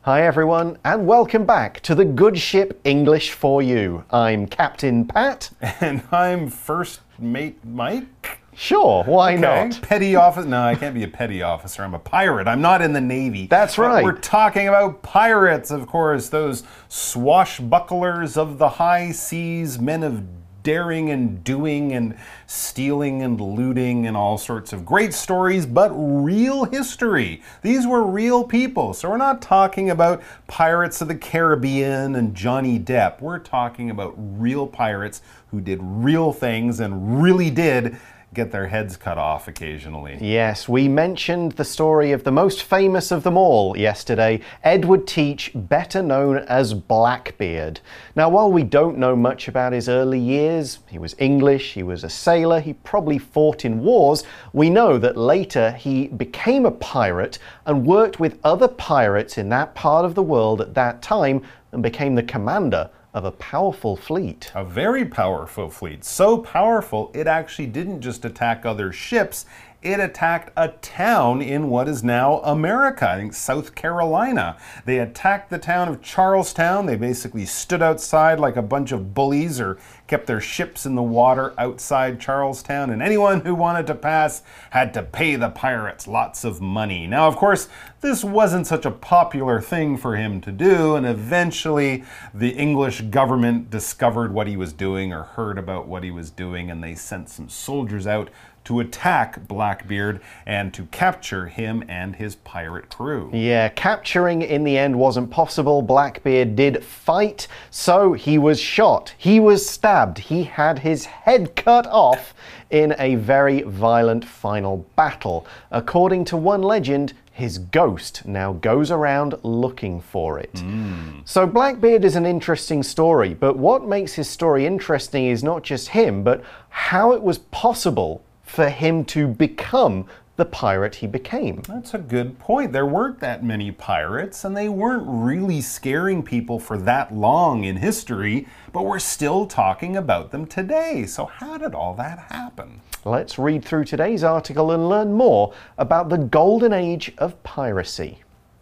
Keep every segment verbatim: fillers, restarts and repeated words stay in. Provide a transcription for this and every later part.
Hi everyone, and welcome back to the Good Ship English for You. I'm Captain Pat. And I'm First Mate Mike. Sure, why okay. not? Petty officer. No, I can't be a petty officer. I'm a pirate. I'm not in the Navy. That's right. But we're talking about pirates, of course. Those swashbucklers of the high seas, men of daring and doing and stealing and looting and all sorts of great stories, but real history. These were real people. So we're not talking about Pirates of the Caribbean and Johnny Depp. We're talking about real pirates who did real things and really did get their heads cut off occasionally. Yes, we mentioned the story of the most famous of them all yesterday, Edward Teach, better known as Blackbeard. Now, while we don't know much about his early years, he was English, he was a sailor, he probably fought in wars, we know that later he became a pirate and worked with other pirates in that part of the world at that time and became the commander of a powerful fleet. A very powerful fleet. So powerful, it actually didn't just attack other ships, it attacked a town in what is now America, I think South Carolina. They attacked the town of Charlestown. They basically stood outside like a bunch of bullies or kept their ships in the water outside Charlestown, and anyone who wanted to pass had to pay the pirates lots of money. Now, of course, this wasn't such a popular thing for him to do, and eventually the English government discovered what he was doing or heard about what he was doing, and they sent some soldiers out to attack Blackbeard and to capture him and his pirate crew. Yeah, capturing in the end wasn't possible. Blackbeard did fight, so he was shot. He was stabbed. He had his head cut off in a very violent final battle. According to one legend, his ghost now goes around looking for it. Mm. So Blackbeard is an interesting story, but what makes his story interesting is not just him, but how it was possible for him to become the pirate he became. That's a good point. There weren't that many pirates, and they weren't really scaring people for that long in history, but we're still talking about them today. So how did all that happen? Let's read through today's article and learn more about the golden age of piracy.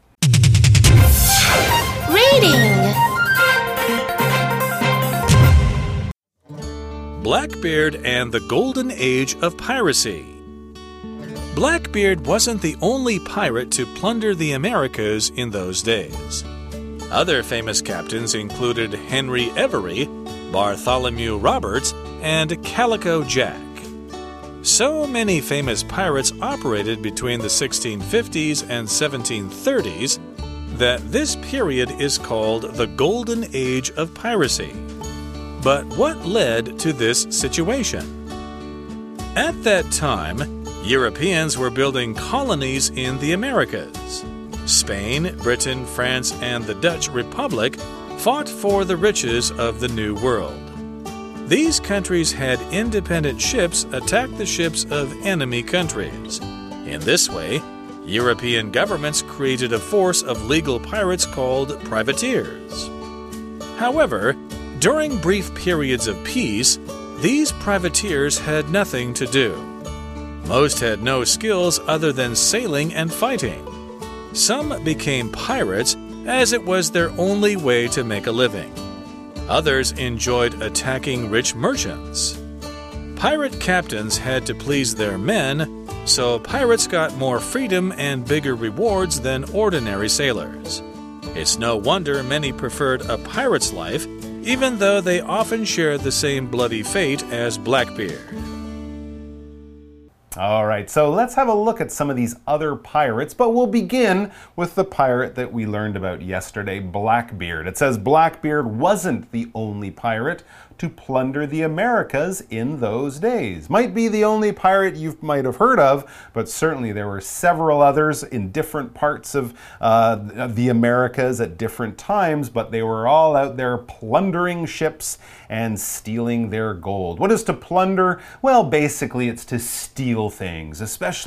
Reading. Blackbeard and the Golden Age of Piracy. Blackbeard wasn't the only pirate to plunder the Americas in those days. Other famous captains included Henry Every, Bartholomew Roberts, and Calico Jack. So many famous pirates operated between the sixteen fifties and seventeen thirties that this period is called the Golden Age of Piracy. But what led to this situation? At that time, Europeans were building colonies in the Americas. Spain, Britain, France, and the Dutch Republic fought for the riches of the New World. These countries had independent ships attack the ships of enemy countries. In this way, European governments created a force of legal pirates called privateers. However, during brief periods of peace, these privateers had nothing to do. Most had no skills other than sailing and fighting. Some became pirates as it was their only way to make a living. Others enjoyed attacking rich merchants. Pirate captains had to please their men, so pirates got more freedom and bigger rewards than ordinary sailors. It's no wonder many preferred a pirate's life, even though they often shared the same bloody fate as Blackbeard. All right, so let's have a look at some of these other pirates, but we'll begin with the pirate that we learned about yesterday, Blackbeard. It says Blackbeard wasn't the only pirate to plunder the Americas in those days. Might be the only pirate you might have heard of, but certainly there were several others in different parts of uh, the Americas at different times, but they were all out there plundering ships and stealing their gold. What is to plunder? Well, basically it's to steal things, especially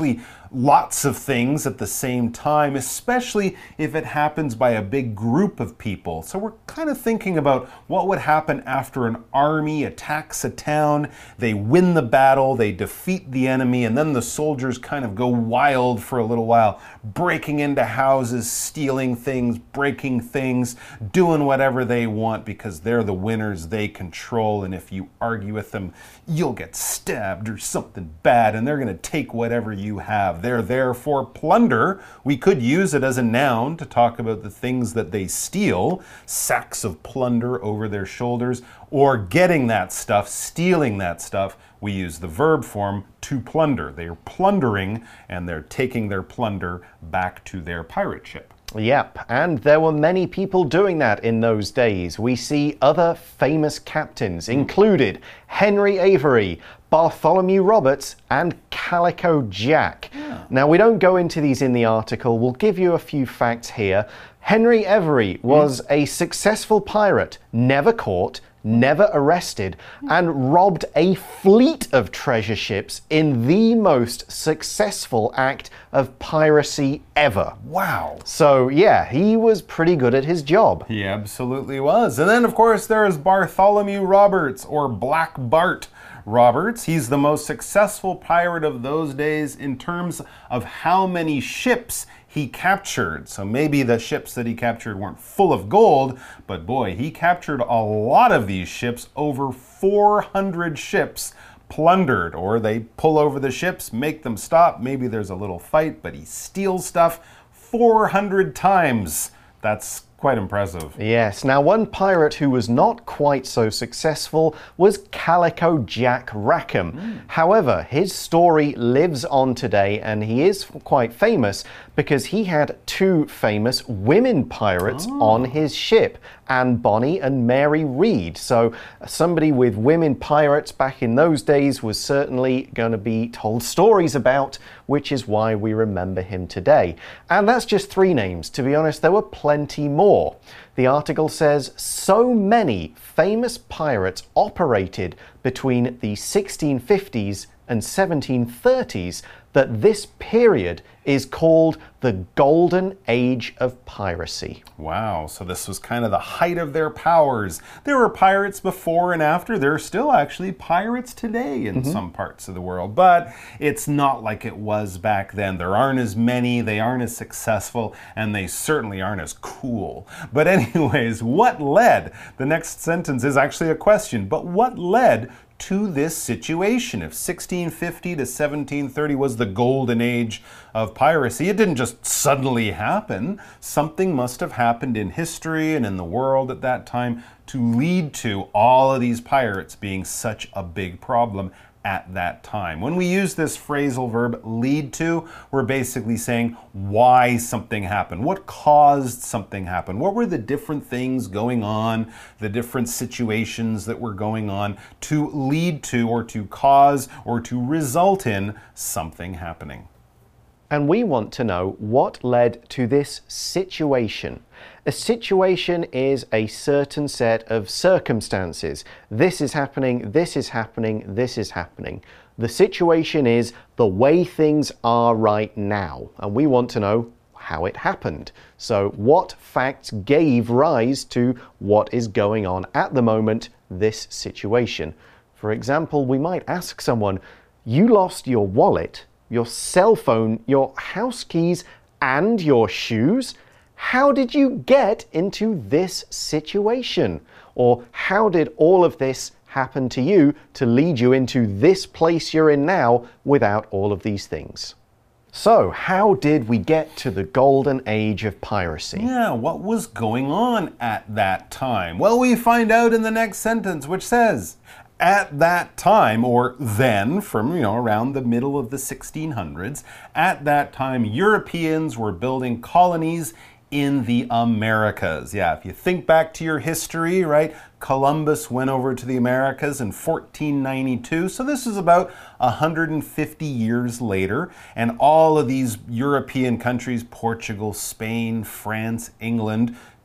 lots of things at the same time, especially if it happens by a big group of people. So we're kind of thinking about what would happen after an army attacks a town, they win the battle, they defeat the enemy, and then the soldiers kind of go wild for a little while, breaking into houses, stealing things, breaking things, doing whatever they want because they're the winners, they control, and if you argue with them, you'll get stabbed or something bad, and they're going to take whatever you have. They're there for plunder. We could use it as a noun to talk about the things that they steal, sacks of plunder over their shoulders, or getting that stuff, stealing that stuff. We use the verb form to plunder. They are plundering, and they're taking their plunder back to their pirate ship. Yep, and there were many people doing that in those days. We see other famous captains, included Henry Avery, Bartholomew Roberts, and Calico Jack. Yeah. Now, we don't go into these in the article. We'll give you a few facts here. Henry Avery was mm. a successful pirate, never caught, never arrested, and robbed a fleet of treasure ships in the most successful act of piracy ever. Wow. So, yeah, he was pretty good at his job. He absolutely was. And then, of course, there is Bartholomew Roberts, or Black Bart Roberts. He's the most successful pirate of those days in terms of how many ships he captured. So maybe the ships that he captured weren't full of gold, but boy, he captured a lot of these ships, over four hundred ships plundered, or they pull over the ships, make them stop. Maybe there's a little fight, but he steals stuff four hundred times. That's quite impressive. Yes. Now, one pirate who was not quite so successful was Calico Jack Rackham. Mm. However, his story lives on today, and he is quite famous because he had two famous women pirates oh. on his ship, Anne Bonny and Mary Read. So somebody with women pirates back in those days was certainly going to be told stories about, which is why we remember him today. And that's just three names. To be honest, there were plenty more. The article says so many famous pirates operated between the sixteen fifties and seventeen thirties that this period is called the Golden Age of Piracy. Wow, so this was kind of the height of their powers. There were pirates before and after. There are still actually pirates today in mm-hmm. some parts of the world, but it's not like it was back then. There aren't as many, they aren't as successful, and they certainly aren't as cool. But anyways, what led? The next sentence is actually a question, but what led to this situation? If sixteen fifty to seventeen thirty was the golden age of piracy, it didn't just suddenly happen. Something must have happened in history and in the world at that time to lead to all of these pirates being such a big problem at that time. When we use this phrasal verb lead to, we're basically saying why something happened. What caused something happen? What were the different things going on, the different situations that were going on to lead to or to cause or to result in something happening? And we want to know what led to this situation. A situation is a certain set of circumstances. This is happening, this is happening, this is happening. The situation is the way things are right now, and we want to know how it happened. So what facts gave rise to what is going on at the moment, this situation? For example, we might ask someone, you lost your wallet, your cell phone, your house keys, and your shoes? How did you get into this situation? Or how did all of this happen to you to lead you into this place you're in now without all of these things? So, how did we get to the golden age of piracy? Yeah, what was going on at that time? Well, we find out in the next sentence, which says, at that time, or then, from, you know, around the middle of the sixteen hundreds, at that time, Europeans were building colonies in the Americas. Yeah, if you think back to your history, right? Columbus went over to the Americas in fourteen ninety-two. So this is about one hundred fifty years later. And all of these European countries, Portugal, Spain, France, England,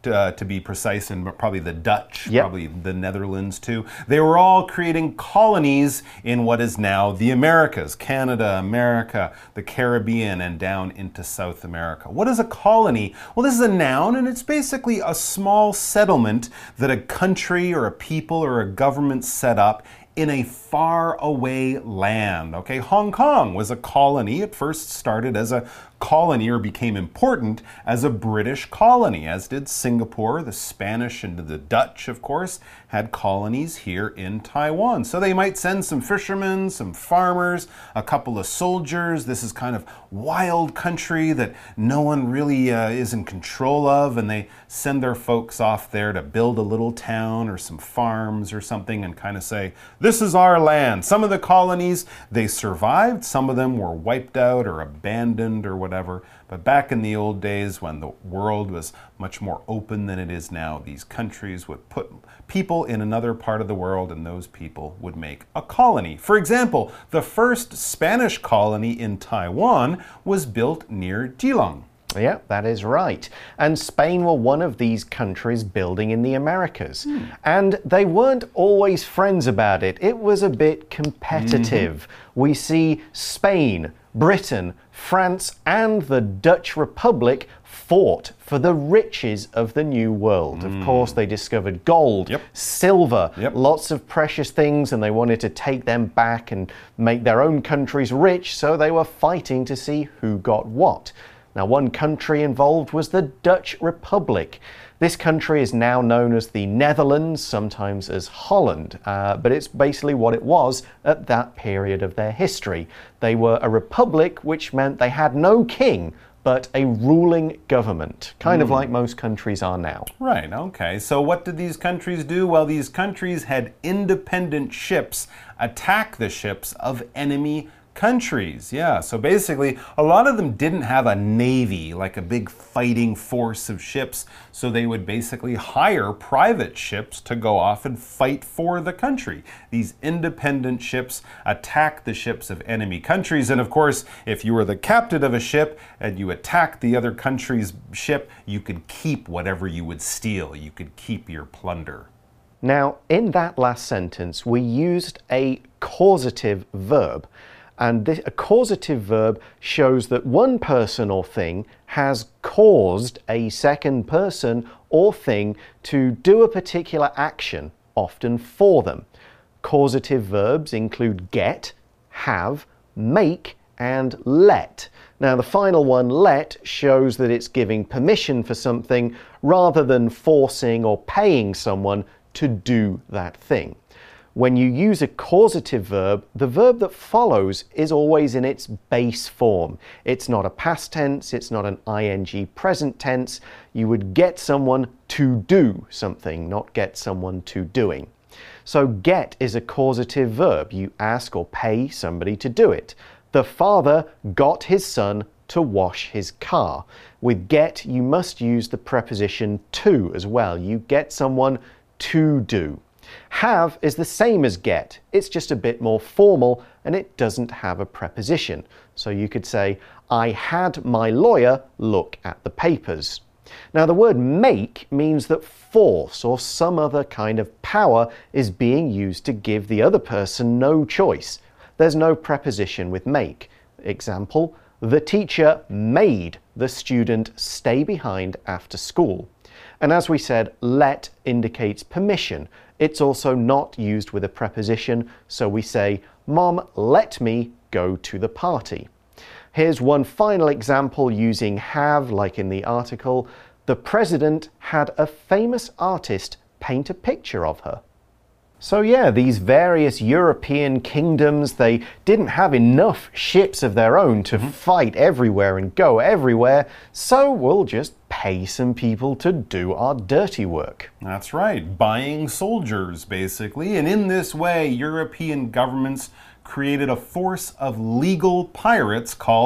uh, to be precise, and probably the Dutch, yep. probably the Netherlands too. They were all creating colonies in what is now the Americas, Canada, America, the Caribbean, and down into South America. What is a colony? Well, this is a noun, and it's basically a small settlement that a country or a people or a government set up in a far away land. Okay, Hong Kong was a colony. It first started as a colony, or became important as a British colony, as did Singapore. The Spanish and the Dutch, of course, had colonies here in Taiwan. So they might send some fishermen, some farmers, a couple of soldiers. This is kind of wild country that no one really uh, is in control of, and they send their folks off there to build a little town or some farms or something and kind of say, this is our land. Some of the colonies, they survived. Some of them were wiped out or abandoned or whatever. But back in the old days, when the world was much more open than it is now, these countries would put people in another part of the world, and those people would make a colony. For example, the first Spanish colony in Taiwan was built near Geelong. Yeah, that is right. And Spain were one of these countries building in the Americas. Hmm. And they weren't always friends about it. It was a bit competitive. Mm-hmm. We see Spain, Britain, France, and the Dutch Republic fought for the riches of the New World. Mm. Of course, they discovered gold, yep. silver, yep. lots of precious things, and they wanted to take them back and make their own countries rich, so they were fighting to see who got what. Now, one country involved was the Dutch Republic. This country is now known as the Netherlands, sometimes as Holland, uh, but it's basically what it was at that period of their history. They were a republic, which meant they had no king, but a ruling government, kind mm. of like most countries are now. Right, okay. So what did these countries do? Well, these countries had independent ships attack the ships of enemy countries. Yeah, so basically a lot of them didn't have a navy, like a big fighting force of ships, so they would basically hire private ships to go off and fight for the country. These independent ships attack the ships of enemy countries, and of course, if you were the captain of a ship and you attacked the other country's ship, you could keep whatever you would steal. You could keep your plunder. Now, in that last sentence, we used a causative verb. And this, a causative verb shows that one person or thing has caused a second person or thing to do a particular action, often for them. Causative verbs include get, have, make, and let. Now, the final one, let, shows that it's giving permission for something rather than forcing or paying someone to do that thing. When you use a causative verb, the verb that follows is always in its base form. It's not a past tense, it's not an ing present tense. You would get someone to do something, not get someone to doing. So get is a causative verb. You ask or pay somebody to do it. The father got his son to wash his car. With get, you must use the preposition to as well. You get someone to do. Have is the same as get, it's just a bit more formal and it doesn't have a preposition. So you could say, I had my lawyer look at the papers. Now the word make means that force or some other kind of power is being used to give the other person no choice. There's no preposition with make. Example, the teacher made the student stay behind after school. And as we said, let indicates permission. It's also not used with a preposition, so we say, Mom, let me go to the party. Here's one final example using have, like in the article. The president had a famous artist paint a picture of her. So yeah, these various European kingdoms, they didn't have enough ships of their own to mm-hmm. fight everywhere and go everywhere, so we'll just pay some people to do our dirty work. That's right, buying soldiers, basically. And in this way, European governments created a force of legal pirates called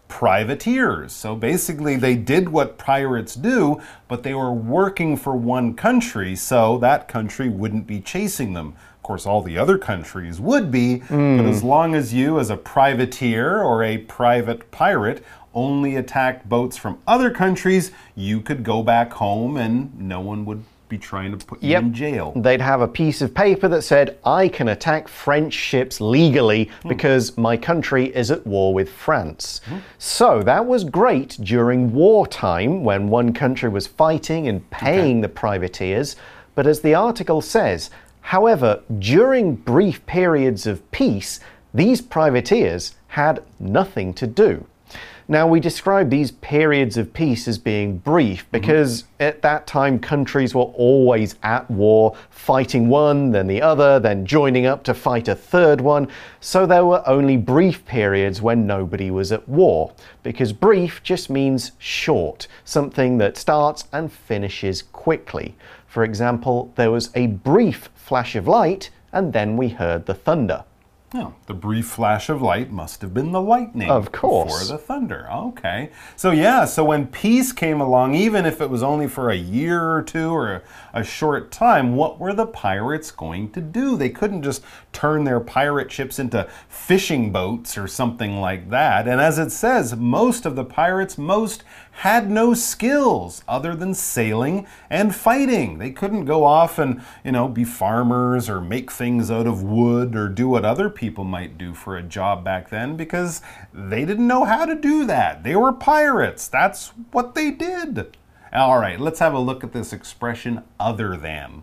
privateers. So basically they did what pirates do, but they were working for one country, so that country wouldn't be chasing them. Of course, all the other countries would be, mm. but as long as you, as a privateer or a private pirate, only attacked boats from other countries, you could go back home and no one would be trying to put you yep. in jail. They'd have a piece of paper that said, I can attack French ships legally mm. because my country is at war with France. Mm. So that was great during wartime when one country was fighting and paying okay. the privateers. But as the article says, however, during brief periods of peace, these privateers had nothing to do. Now, we describe these periods of peace as being brief because mm-hmm. at that time countries were always at war, fighting one, then the other, then joining up to fight a third one. So there were only brief periods when nobody was at war, because brief just means short, something that starts and finishes quickly. For example, there was a brief flash of light and then we heard the thunder. Oh, the brief flash of light must have been the lightning. Of course. Before the thunder. Okay. So yeah, so when peace came along, even if it was only for a year or two or a, a short time, what were the pirates going to do? They couldn't just turn their pirate ships into fishing boats or something like that. And as it says, most of the pirates, most had no skills other than sailing and fighting. They couldn't go off and, you know, be farmers or make things out of wood or do what other people might do for a job back then because they didn't know how to do that. They were pirates. That's what they did. All right, let's have a look at this expression, other than.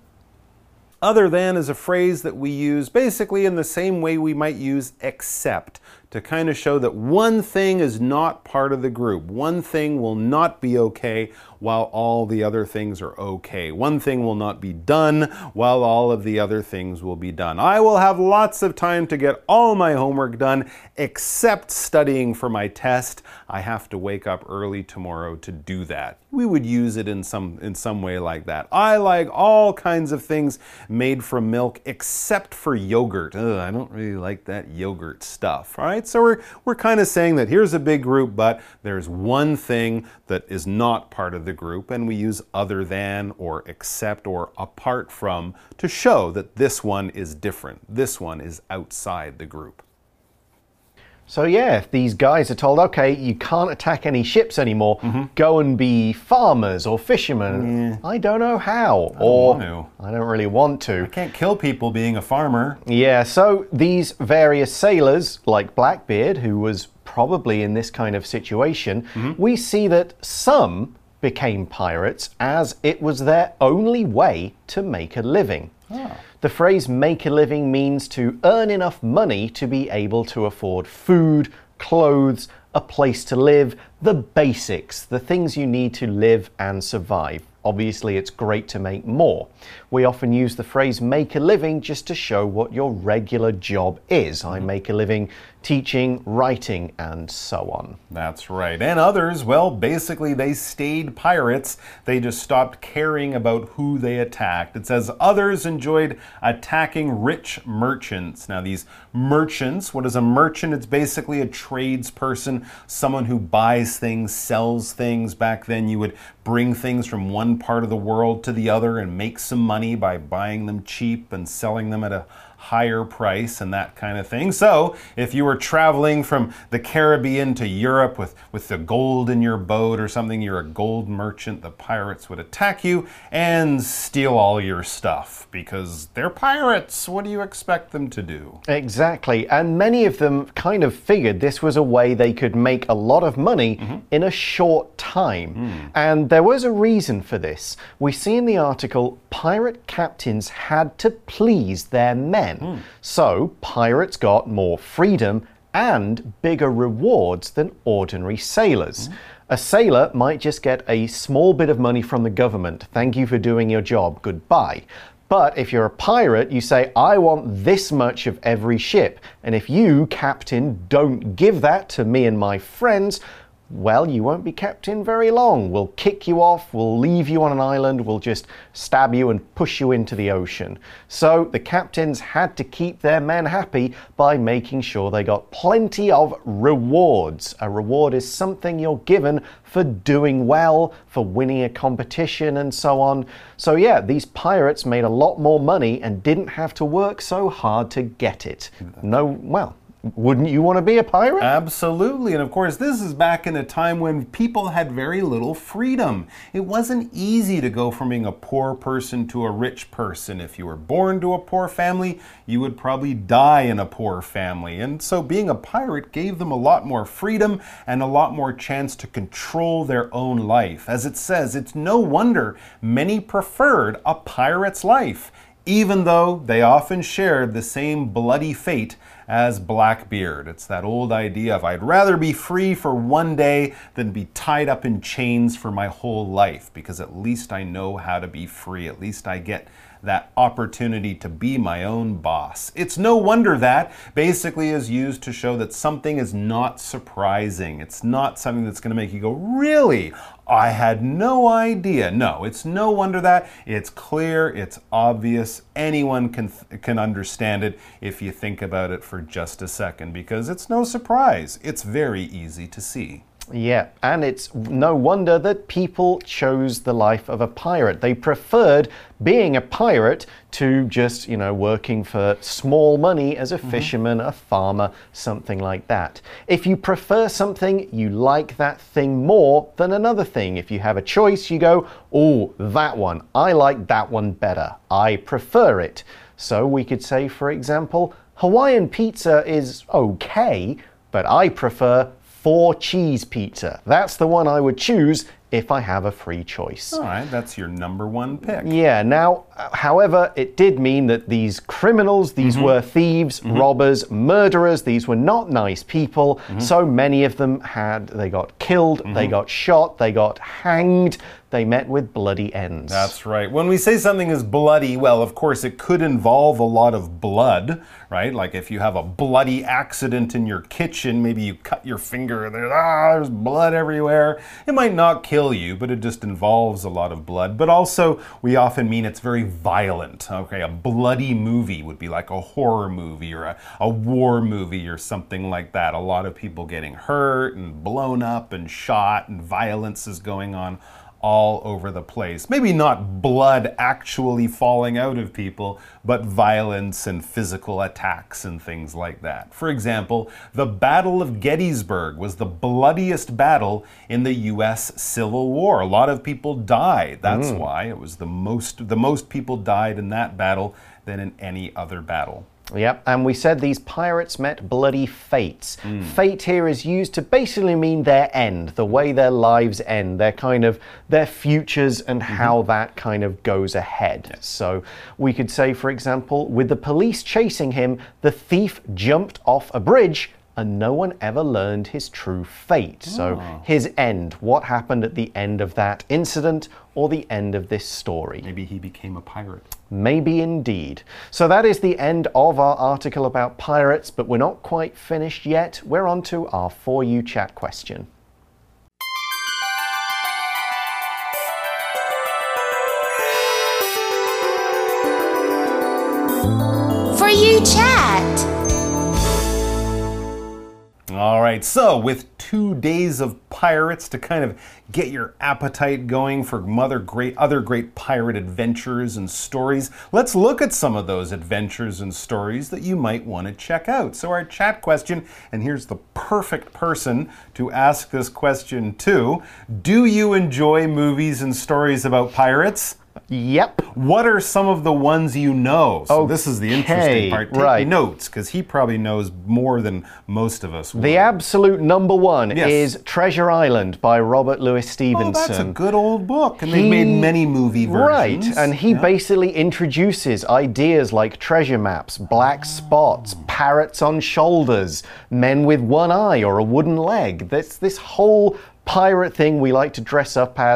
Other than is a phrase that we use basically in the same way we might use except, to kind of show that one thing is not part of the group. One thing will not be okay while all the other things are okay. One thing will not be done while all of the other things will be done. I will have lots of time to get all my homework done except studying for my test. I have to wake up early tomorrow to do that. We would use it in some in some way like that. I like all kinds of things made from milk except for yogurt. Ugh, I don't really like that yogurt stuff. All right, so we're we're kind of saying that here's a big group, but there's one thing that is not part of the group, and we use other than or except or apart from to show that this one is different. This one is outside the group. So yeah, if these guys are told, okay, you can't attack any ships anymore, mm-hmm. go and be farmers or fishermen. Yeah. I don't know how. I or don't want to. I don't really want to. I can't kill people being a farmer. Yeah, so these various sailors, like Blackbeard, who was probably in this kind of situation, mm-hmm. we see that some became pirates as it was their only way to make a living. Oh. The phrase make a living means to earn enough money to be able to afford food, clothes, a place to live, the basics, the things you need to live and survive. Obviously, it's great to make more. We often use the phrase make a living just to show what your regular job is. I make a living teaching, writing, and so on. That's right. And others, well, basically they stayed pirates. They just stopped caring about who they attacked. It says others enjoyed attacking rich merchants. Now, these merchants, what is a merchant? It's basically a tradesperson, someone who buys things, sells things. Back then, you would bring things from one part of the world to the other and make some money by buying them cheap and selling them at a higher price and that kind of thing. So if you were traveling from the Caribbean to Europe with, with the gold in your boat or something, you're a gold merchant, the pirates would attack you and steal all your stuff because they're pirates. What do you expect them to do? Exactly. And many of them kind of figured this was a way they could make a lot of money mm-hmm. in a short time. Mm. And there was a reason for this. We see in the article, pirate captains had to please their men. Mm. So pirates got more freedom and bigger rewards than ordinary sailors. Mm. A sailor might just get a small bit of money from the government. Thank you for doing your job. Goodbye. But if you're a pirate, you say, I want this much of every ship. And if you, captain, don't give that to me and my friends, well, you won't be kept in very long. We'll kick you off, we'll leave you on an island, we'll just stab you and push you into the ocean. So the captains had to keep their men happy by making sure they got plenty of rewards. A reward is something you're given for doing well, for winning a competition and so on. So yeah, these pirates made a lot more money and didn't have to work so hard to get it. No, well, wouldn't you want to be a pirate? Absolutely. And of course, this is back in a time when people had very little freedom. It wasn't easy to go from being a poor person to a rich person. If you were born to a poor family, you would probably die in a poor family. And so being a pirate gave them a lot more freedom and a lot more chance to control their own life. As it says, it's no wonder many preferred a pirate's life, even though they often shared the same bloody fate as Blackbeard. It's that old idea of I'd rather be free for one day than be tied up in chains for my whole life, because at least I know how to be free. At least I get that opportunity to be my own boss. It's no wonder that basically is used to show that something is not surprising. It's not something that's going to make you go, really? I had no idea. No, it's no wonder that. It's clear, it's obvious. Anyone can can understand it if you think about it for just a second, because it's no surprise. It's very easy to see. Yeah, and it's no wonder that people chose the life of a pirate. They preferred being a pirate to just, you know, working for small money as a mm-hmm. fisherman, a farmer, something like that. If you prefer something, you like that thing more than another thing. If you have a choice, you go, oh, that one, I like that one better. I prefer it. So we could say, for example, Hawaiian pizza is okay, but I prefer four cheese pizza. That's the one I would choose if I have a free choice. All right, that's your number one pick. Yeah, now, however, it did mean that these criminals, these mm-hmm. were thieves, mm-hmm. robbers, murderers, these were not nice people. Mm-hmm. So many of them had, they got killed, mm-hmm. they got shot, they got hanged. They met with bloody ends. That's right. When we say something is bloody, well, of course, it could involve a lot of blood, right? Like if you have a bloody accident in your kitchen, maybe you cut your finger, there's, ah, there's blood everywhere. It might not kill you, but it just involves a lot of blood. But also, we often mean it's very violent. Okay, a bloody movie would be like a horror movie or a, a war movie or something like that. A lot of people getting hurt and blown up and shot, and violence is going on all over the place. Maybe not blood actually falling out of people, but violence and physical attacks and things like that. For example, the Battle of Gettysburg was the bloodiest battle in the U S Civil War. A lot of people died. That's mm. why it was the most, the most people died in that battle than in any other battle. Yep, and we said these pirates met bloody fates. Mm. Fate here is used to basically mean their end, the way their lives end, their kind of, their futures and mm-hmm. how that kind of goes ahead. Yes. So we could say, for example, with the police chasing him, the thief jumped off a bridge and no one ever learned his true fate. Oh. So his end, what happened at the end of that incident or the end of this story. Maybe he became a pirate. Maybe indeed. So that is the end of our article about pirates, but we're not quite finished yet. We're on to our For You Chat question. For You Chat. All right, so with two days of pirates to kind of get your appetite going for other great, other great pirate adventures and stories, let's look at some of those adventures and stories that you might want to check out. So our chat question, and here's the perfect person to ask this question to: do you enjoy movies and stories about pirates? Yep. What are some of the ones you know? So okay, this is the interesting part. Take right. notes, because he probably knows more than most of us would. The absolute number one yes. is Treasure Island by Robert Louis Stevenson. Oh, that's a good old book. And he, they've made many movie versions. Right, and he yeah. basically introduces ideas like treasure maps, black spots, parrots on shoulders, men with one eye or a wooden leg. This, this whole pirate thing we like to dress up as,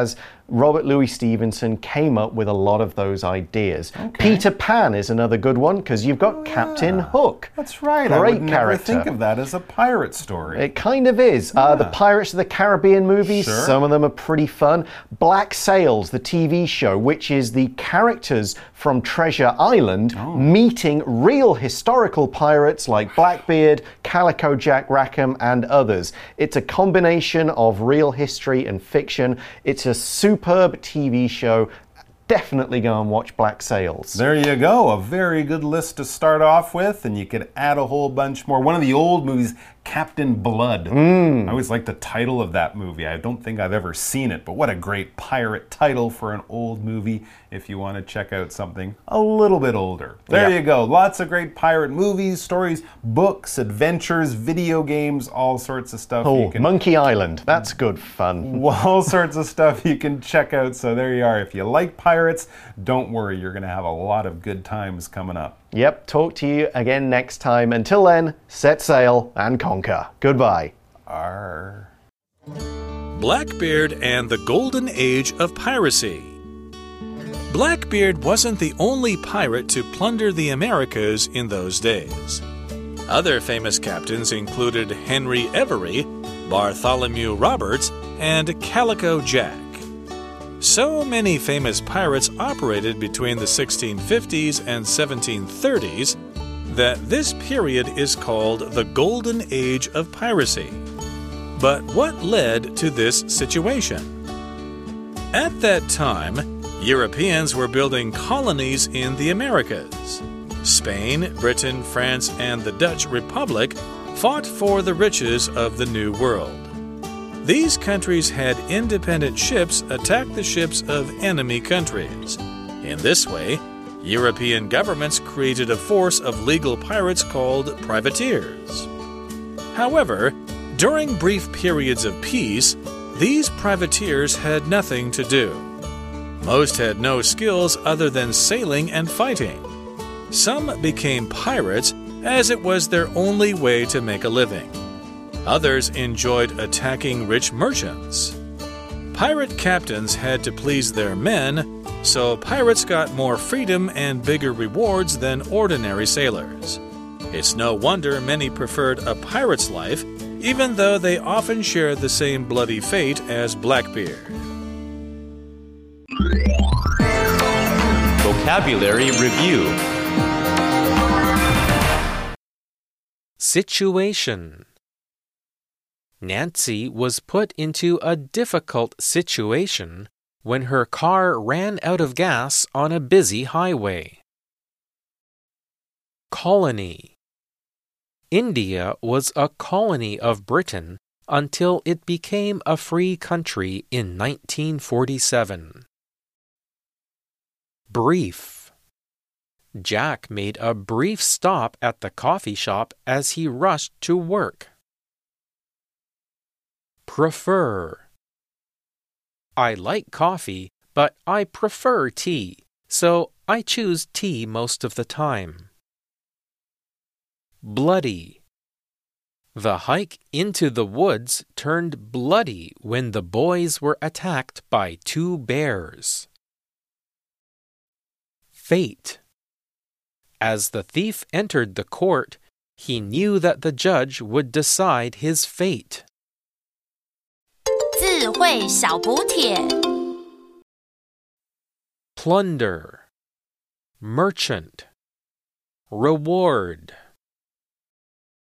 Robert Louis Stevenson came up with a lot of those ideas. Okay. Peter Pan is another good one because you've got oh, yeah. Captain Hook. That's right. Great I would never character. think of that as a pirate story. It kind of is. Yeah. Uh, the Pirates of the Caribbean movies, sure. some of them are pretty fun. Black Sails, the T V show, which is the characters from Treasure Island oh. meeting real historical pirates like Blackbeard, Calico Jack Rackham, and others. It's a combination of real history and fiction. It's a superb T V show. Definitely go and watch Black Sails. There you go. A very good list to start off with, and you could add a whole bunch more. One of the old movies, Captain Blood. Mm. I always like the title of that movie. I don't think I've ever seen it, but what a great pirate title for an old movie if you want to check out something a little bit older. There yep. you go. Lots of great pirate movies, stories, books, adventures, video games, all sorts of stuff. Oh, you can... Monkey Island. That's good fun. All sorts of stuff you can check out. So there you are. If you like pirates, don't worry. You're going to have a lot of good times coming up. Yep, talk to you again next time. Until then, set sail and conquer. Goodbye. Arr. Blackbeard and the Golden Age of Piracy. Blackbeard wasn't the only pirate to plunder the Americas in those days. Other famous captains included Henry Every, Bartholomew Roberts, and Calico Jack. So many famous pirates operated between the sixteen fifties and seventeen thirties that this period is called the Golden Age of Piracy. But what led to this situation? At that time, Europeans were building colonies in the Americas. Spain, Britain, France, and the Dutch Republic fought for the riches of the New World. These countries had independent ships attack the ships of enemy countries. In this way, European governments created a force of legal pirates called privateers. However, during brief periods of peace, these privateers had nothing to do. Most had no skills other than sailing and fighting. Some became pirates as it was their only way to make a living. Others enjoyed attacking rich merchants. Pirate captains had to please their men, so pirates got more freedom and bigger rewards than ordinary sailors. It's no wonder many preferred a pirate's life, even though they often shared the same bloody fate as Blackbeard. Vocabulary Review. Situation. Nancy was put into a difficult situation when her car ran out of gas on a busy highway. Colony. India was a colony of Britain until it became a free country in nineteen forty-seven. Brief. Jack made a brief stop at the coffee shop as he rushed to work. Prefer. I like coffee, but I prefer tea, so I choose tea most of the time. Bloody. The hike into the woods turned bloody when the boys were attacked by two bears. Fate. As the thief entered the court, he knew that the judge would decide his fate. 智慧小補帖 Plunder. Merchant. Reward.